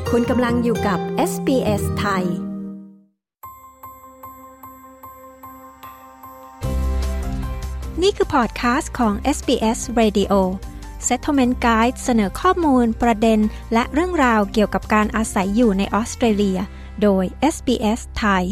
คุณกำลังอยู่กับ SBS ไทยนี่คือพอดคาสต์ของ SBS Radio Settlement Guide เสนอข้อมูลประเด็นและเรื่องราวเกี่ยวกับการอาศัยอยู่ในออสเตรเลียโดย SBS ไทย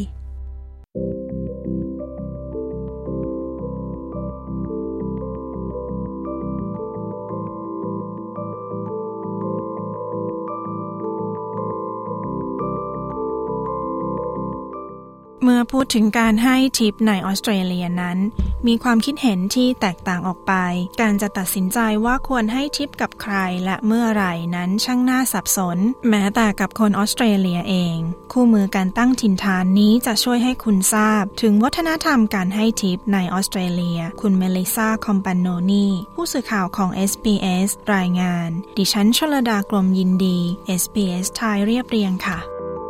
เมื่อพูดถึงการให้ทิปในออสเตรเลียนั้นมีความคิดเห็นที่แตกต่างออกไปการจะตัดสินใจว่าควรให้ทิปกับใครและเมื่อไหร่นั้นช่างน่าสับสนแม้แต่กับคนออสเตรเลียเองคู่มือการตั้งถิ่นฐานนี้จะช่วยให้คุณทราบถึงวัฒนธรรมการให้ทิปในออสเตรเลียคุณเมลิซาคอมปานโนนีผู้สื่อข่าวของ SBS รายงานดิฉันชลดากลมยินดี SBS ไทยเรียบเรียงค่ะ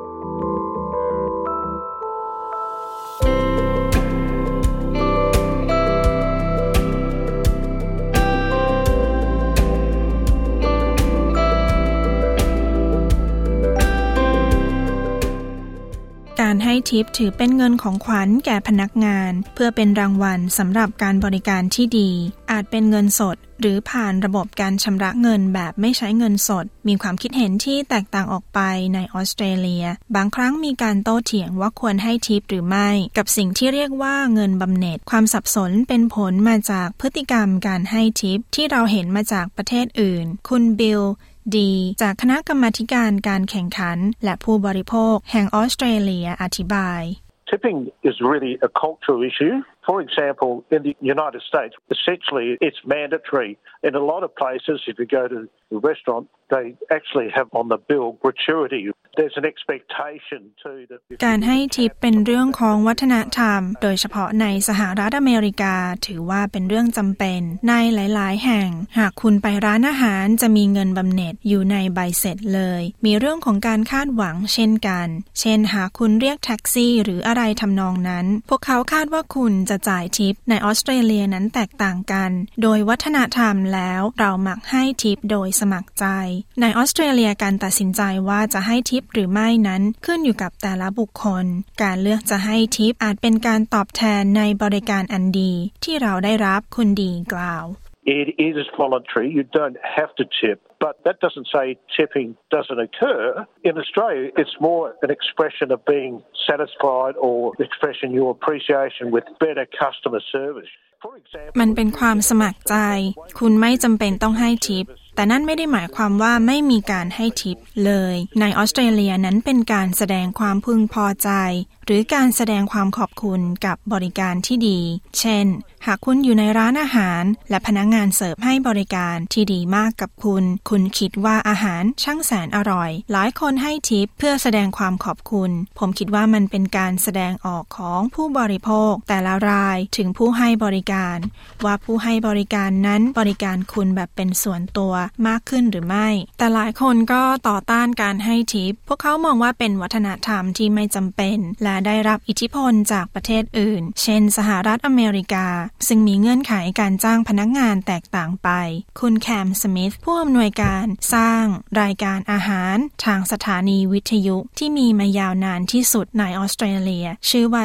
การให้ทิปถือเป็นเงินของขวัญแก่พนักงานเพื่อเป็นรางวัลสำหรับการบริการที่ดีอาจเป็นเงินสดหรือผ่านระบบการชำระเงินแบบไม่ใช้เงินสดมีความคิดเห็นที่แตกต่างออกไปในออสเตรเลียบางครั้งมีการโต้เถียงว่าควรให้ทิปหรือไม่กับสิ่งที่เรียกว่าเงินบำเหน็จความสับสนเป็นผลมาจากพฤติกรรมการให้ทิปที่เราเห็นมาจากประเทศอื่นคุณบิลดีจากคณะกรรมาธิการการแข่งขันและผู้บริโภคแห่งออสเตรเลียอธิบาย Tipping is really a cultural issue. For example, in the United States, essentially it's mandatory. In a lot of places, if you go to a restaurant, they actually have on the bill gratuity. There's an expectation too that การให้ทิปเป็นเรื่องของวัฒนธรรมโดยเฉพาะในสหรัฐอเมริกาถือว่าเป็นเรื่องจำเป็นในหลายๆแห่งหากคุณไปร้านอาหารจะมีเงินบำเหน็จอยู่ในใบเสร็จเลยมีเรื่องของการคาดหวังเช่นกันเช่นหากคุณเรียกแท็กซี่หรืออะไรทำนองนั้นพวกเขาคาดว่าคุณจะจ่ายทิปในออสเตรเลียนั้นแตกต่างกันโดยวัฒนธรรมแล้วเรามักให้ทิปโดยสมัครใจในออสเตรเลียการตัดสินใจว่าจะให้ทิปหรือไม่นั้นขึ้นอยู่กับแต่ละบุคคลการเลือกจะให้ทิปอาจเป็นการตอบแทนในบริการอันดีที่เราได้รับคุณดีกล่าว It is voluntary. You don't have to tip. But that doesn't say tipping doesn't occur. In Australia, it's more an expression of being satisfied or expressing your appreciation with better customer service. มันเป็นความสมัครใจคุณไม่จำเป็นต้องให้ทิปแต่นั่นไม่ได้หมายความว่าไม่มีการให้ทิปเลยในออสเตรเลียนั้นเป็นการแสดงความพึงพอใจหรือการแสดงความขอบคุณกับบริการที่ดีเช่นหากคุณอยู่ในร้านอาหารและพนักงานเสิร์ฟให้บริการที่ดีมากกับคุณคิดว่าอาหารช่างแสนอร่อยหลายคนให้ทิปเพื่อแสดงความขอบคุณผมคิดว่ามันเป็นการแสดงออกของผู้บริโภคแต่ละรายถึงผู้ให้บริการว่าผู้ให้บริการนั้นบริการคุณแบบเป็นส่วนตัวมากขึ้นหรือไม่แต่หลายคนก็ต่อต้านการให้ทิปพวกเขามองว่าเป็นวัฒนธรรมที่ไม่จำเป็นและได้รับอิทธิพลจากประเทศอื่นเช่นสหรัฐอเมริกาซึ่งมีเงื่อนไขการจ้างพนักงานแตกต่างไปคุณแคมสมิธผู้อำนวยการสร้างรายการอาหารทางสถานีวิทยุที่มีมายาวนานที่สุดในออสเตรเลียชื่อว่า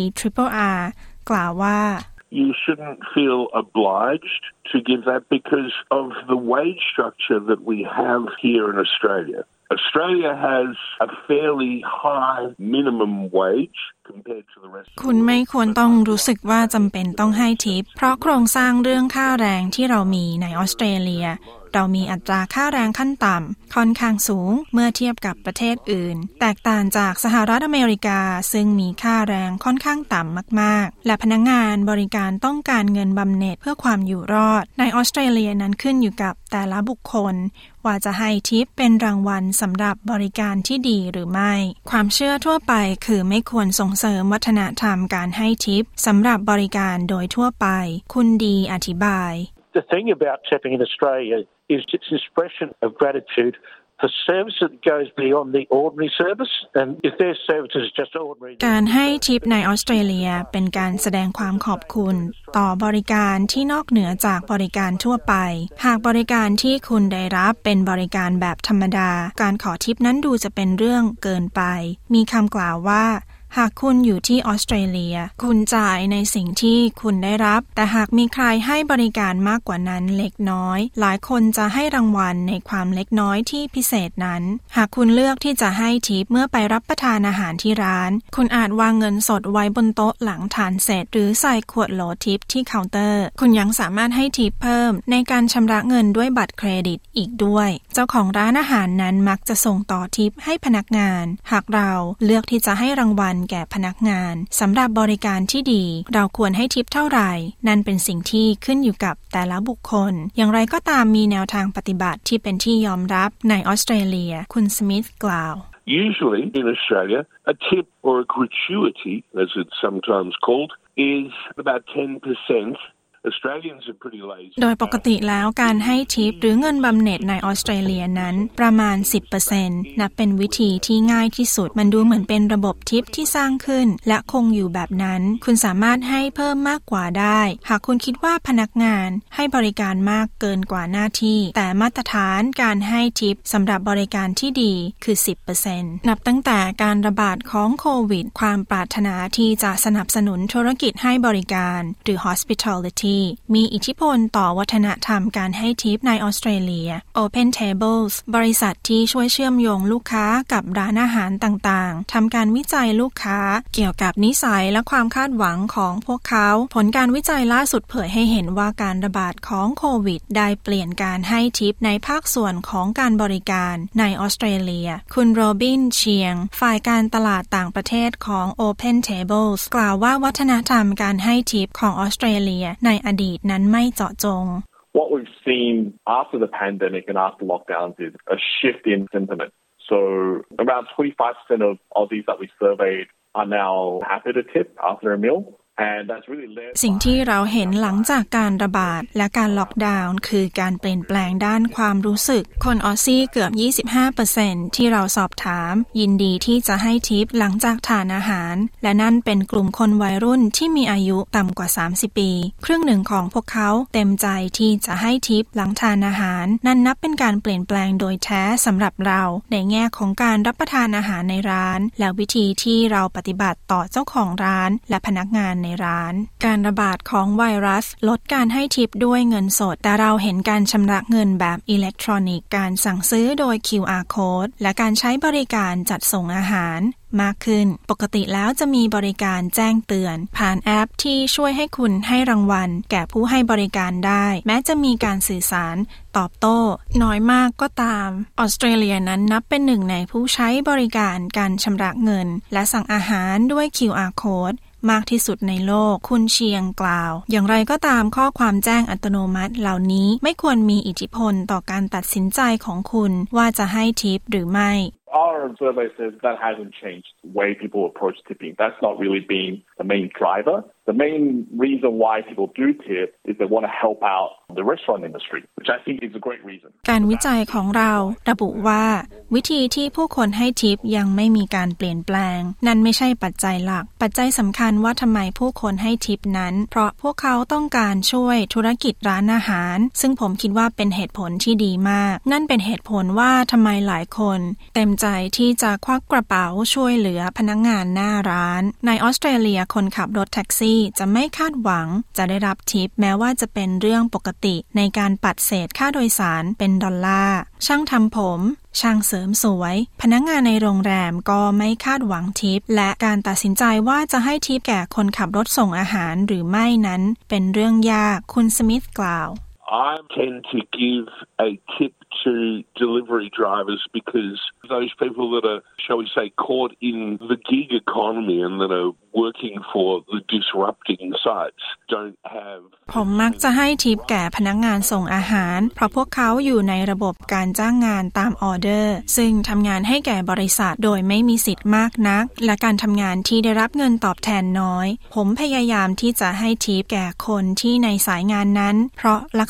3RRR กล่าวว่า You shouldn't feel obliged to give that because of the wage structure that we have here in Australia has a fairly high minimum wage compared to the rest of the world. คุณไม่ควรต้องรู้สึกว่าจำเป็นต้องให้ทิปเพราะโครงสร้างเรื่องค่าแรงที่เรามีในออสเตรเลียเรามีอัตราค่าแรงขั้นต่ำค่อนข้างสูงเมื่อเทียบกับประเทศอื่นแตกต่างจากสหรัฐอเมริกาซึ่งมีค่าแรงค่อนข้างต่ำมากๆและพนักงานบริการต้องการเงินบำเหน็จเพื่อความอยู่รอดในออสเตรเลียนั้นขึ้นอยู่กับแต่ละบุคคลว่าจะให้ทิปเป็นรางวัลสำหรับบริการที่ดีหรือไม่ความเชื่อทั่วไปคือไม่ควรส่งเสริมวัฒนธรรมการให้ทิปสำหรับบริการโดยทั่วไปคุณดีอธิบาย The thing about tipping in Australia is its expression of gratitude for service that goes beyond the ordinary service, and if their service is just ordinary. การให้ทิปในออสเตรเลียเป็นการแสดงความขอบคุณต่อบริการที่นอกเหนือจากบริการทั่วไปหากบริการที่คุณได้รับเป็นบริการแบบธรรมดาการขอทิปนั้นดูจะเป็นเรื่องเกินไปมีคำกล่าวว่าหากคุณอยู่ที่ออสเตรเลียคุณจ่ายในสิ่งที่คุณได้รับแต่หากมีใครให้บริการมากกว่านั้นเล็กน้อยหลายคนจะให้รางวัลในความเล็กน้อยที่พิเศษนั้นหากคุณเลือกที่จะให้ทิปเมื่อไปรับประทานอาหารที่ร้านคุณอาจวางเงินสดไว้บนโต๊ะหลังทานเสร็จหรือใส่ขวดโหลทิปที่เคาน์เตอร์คุณยังสามารถให้ทิปเพิ่มในการชำระเงินด้วยบัตรเครดิตอีกด้วยเจ้าของร้านอาหารนั้นมักจะส่งต่อทิปให้พนักงานหากเราเลือกที่จะให้รางวัลแก่พนักงานสำหรับบริการที่ดีเราควรให้ทิปเท่าไหร่นั่นเป็นสิ่งที่ขึ้นอยู่กับแต่ละบุคคลอย่างไรก็ตามมีแนวทางปฏิบัติที่เป็นที่ยอมรับในออสเตรเลียคุณสมิธกล่าว Usually in Australia, a tip or a gratuity, as it's sometimes called, is about 10%.Australians are pretty lazy. โดยปกติแล้วการให้ทิปหรือเงินบำเหน็จในออสเตรเลียนั้นประมาณ 10% นับเป็นวิธีที่ง่ายที่สุดมันดูเหมือนเป็นระบบทิปที่สร้างขึ้นและคงอยู่แบบนั้นคุณสามารถให้เพิ่มมากกว่าได้หากคุณคิดว่าพนักงานให้บริการมากเกินกว่าหน้าที่แต่มาตรฐานการให้ทิปสำหรับบริการที่ดีคือ 10% นับตั้งแต่การระบาดของโควิดความปรารถนาที่จะสนับสนุนธุรกิจให้บริการหรือ hospitalityมีอิทธิพลต่อวัฒนธรรมการให้ทิปในออสเตรเลีย Open Tables บริษัทที่ช่วยเชื่อมโยงลูกค้ากับร้านอาหารต่างๆทำการวิจัยลูกค้าเกี่ยวกับนิสัยและความคาดหวังของพวกเขาผลการวิจัยล่าสุดเผยให้เห็นว่าการระบาดของโควิดได้เปลี่ยนการให้ทิปในภาคส่วนของการบริการในออสเตรเลียคุณโรบินเชียงฝ่ายการตลาดต่างประเทศของ Open Tables กล่าวว่าวัฒนธรรมการให้ทิปของออสเตรเลียในอดีตนั้นไม่เจาะจง What we've seen after the pandemic and after lockdowns is a shift in sentiment. So around 25% of Aussies that we surveyed are now happy to tip after a meal. สิ่งที่เราเห็นหลังจากการระบาดและการล็อกดาวน์คือการเปลี่ยนแปลงด้านความรู้สึกคนออสซี่เกือบ 25% ที่เราสอบถามยินดีที่จะให้ทิปหลังจากทานอาหารและนั่นเป็นกลุ่มคนวัยรุ่นที่มีอายุต่ำกว่า30ปีครึ่งหนึ่งของพวกเขาเต็มใจที่จะให้ทิปหลังทานอาหารนั่นนับเป็นการเปลี่ยนแปลงโดยแท้สำหรับเราในแง่ของการรับประทานอาหารในร้านและวิธีที่เราปฏิบัติต่อเจ้าของร้านและพนักงานในร้านการระบาดของไวรัสลดการให้ทิปด้วยเงินสดแต่เราเห็นการชำระเงินแบบอิเล็กทรอนิกส์การสั่งซื้อโดย QR Code และการใช้บริการจัดส่งอาหารมากขึ้นปกติแล้วจะมีบริการแจ้งเตือนผ่านแอปที่ช่วยให้คุณให้รางวัลแก่ผู้ให้บริการได้แม้จะมีการสื่อสารตอบโต้น้อยมากก็ตามออสเตรเลียนั้นนับเป็นหนึ่งในผู้ใช้บริการการชำระเงินและสั่งอาหารด้วย QR Codeมากที่สุดในโลกคุณเชียงกล่าวอย่างไรก็ตามข้อความแจ้งอัตโนมัติเหล่านี้ไม่ควรมีอิทธิพลต่อการตัดสินใจของคุณว่าจะให้ทิปหรือไม่ Our survey says that hasn't changed the way people approach tipping. That's not really been the main driver. The main reason why people do tip is they want to help out the restaurant industry, which I think is a great reason. การวิจัยของเราระบุว่าวิธีที่ผู้คนให้ทิปยังไม่มีการเปลี่ยนแปลงนั่นไม่ใช่ปัจจัยหลักปัจจัยสำคัญว่าทำไมผู้คนให้ทิปนั้นเพราะพวกเขาต้องการช่วยธุรกิจร้านอาหารซึ่งผมคิดว่าเป็นเหตุผลที่ดีมากนั่นเป็นเหตุผลว่าทำไมหลายคนเต็มใจที่จะควักกระเป๋าช่วยเหลือพนักงานหน้าร้านในออสเตรเลียคนขับรถแท็กซี่จะไม่คาดหวังจะได้รับทิปแม้ว่าจะเป็นเรื่องปกติในการปัดเศษค่าโดยสารเป็นดอลลาร์ช่างทำผมช่างเสริมสวยพนักงานในโรงแรมก็ไม่คาดหวังทิปและการตัดสินใจว่าจะให้ทิปแก่คนขับรถส่งอาหารหรือไม่นั้นเป็นเรื่องยากคุณสมิธกล่าว I tend to give a tip to delivery drivers because those people that are, shall we say, caught in the gig economy and that are working for the disrupting sites don't have ผมมักจะให้ทิปแก่พนักงานส่งอาหารเพราะพวกเขาอยู่ในระบบการจ้างงานตามออเดอร์ซึ่งทำงานให้แก่บริษัทโดยไม่มีสิทธิ์มากนักและการทำงานที่ได้รับเงินตอบแทนน้อยผมพยายามที่จะให้ทิปแก่คนที่ในสายงานนั้นเพราะลักษ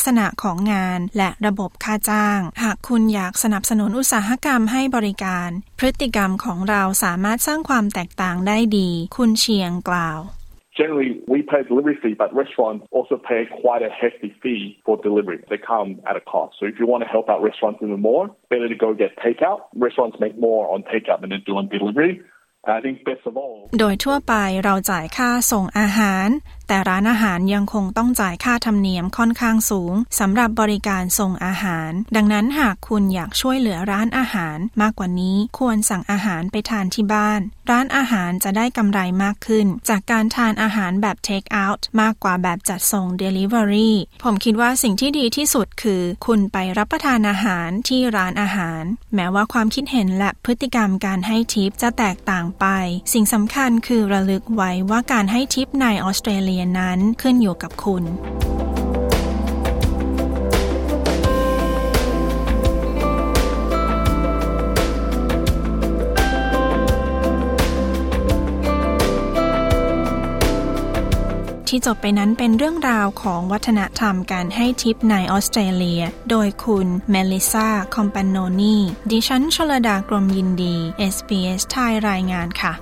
ษณะของงานและระบบค่าจ้างหากคุณอยากสนับสนุนอุตสาหกรรมให้บริการพฤติกรรมของเราสามารถสร้างความแตกต่างได้ดีคุณเชียงกล่าว Generally, we pay a delivery fee, but restaurants also pay quite a hefty fee for delivery. They come at a cost. So if you want to help out restaurants even more, better to go get takeout. Restaurants make more on takeout than they do on delivery.I think best of all โดยทั่วไปเราจ่ายค่าส่งอาหารแต่ร้านอาหารยังคงต้องจ่ายค่าธรรมเนียมค่อนข้างสูงสำหรับบริการส่งอาหารดังนั้นหากคุณอยากช่วยเหลือร้านอาหารมากกว่านี้ควรสั่งอาหารไปทานที่บ้านร้านอาหารจะได้กำไรมากขึ้นจากการทานอาหารแบบ take out มากกว่าแบบจัดส่ง delivery ผมคิดว่าสิ่งที่ดีที่สุดคือคุณไปรับประทานอาหารที่ร้านอาหารแม้ว่าความคิดเห็นและพฤติกรรมการให้ทิปจะแตกต่างไปสิ่งสำคัญคือระลึกไว้ว่าการให้ทิปในออสเตรเลียนั้นขึ้นอยู่กับคุณที่จบไปนั้นเป็นเรื่องราวของวัฒนธรรมการให้ทิปในออสเตรเลียโดยคุณเมลิซาคอมปานโนนีดิฉันชลดากรมยินดี SBS ไทยรายงานค่ะ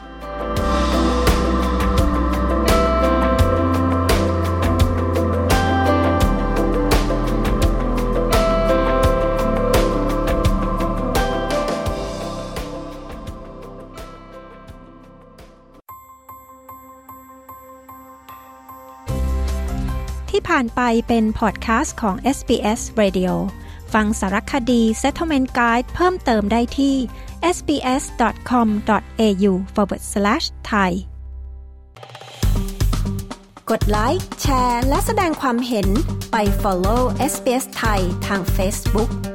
ที่ผ่านไปเป็นพอดแคสต์ของ SBS Radio ฟังสารคดี Settlement Guide เพิ่มเติมได้ที่ sbs.com.au/thai กดไลค์แชร์และแสดงความเห็นไป follow SBS ไทยทาง Facebook